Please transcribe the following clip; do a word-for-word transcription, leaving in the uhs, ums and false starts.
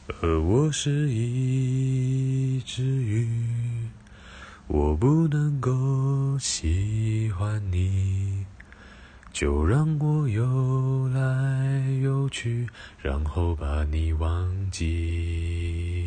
而我是一只鱼，我不能够喜欢你，就让我游来游去，然后把你忘记。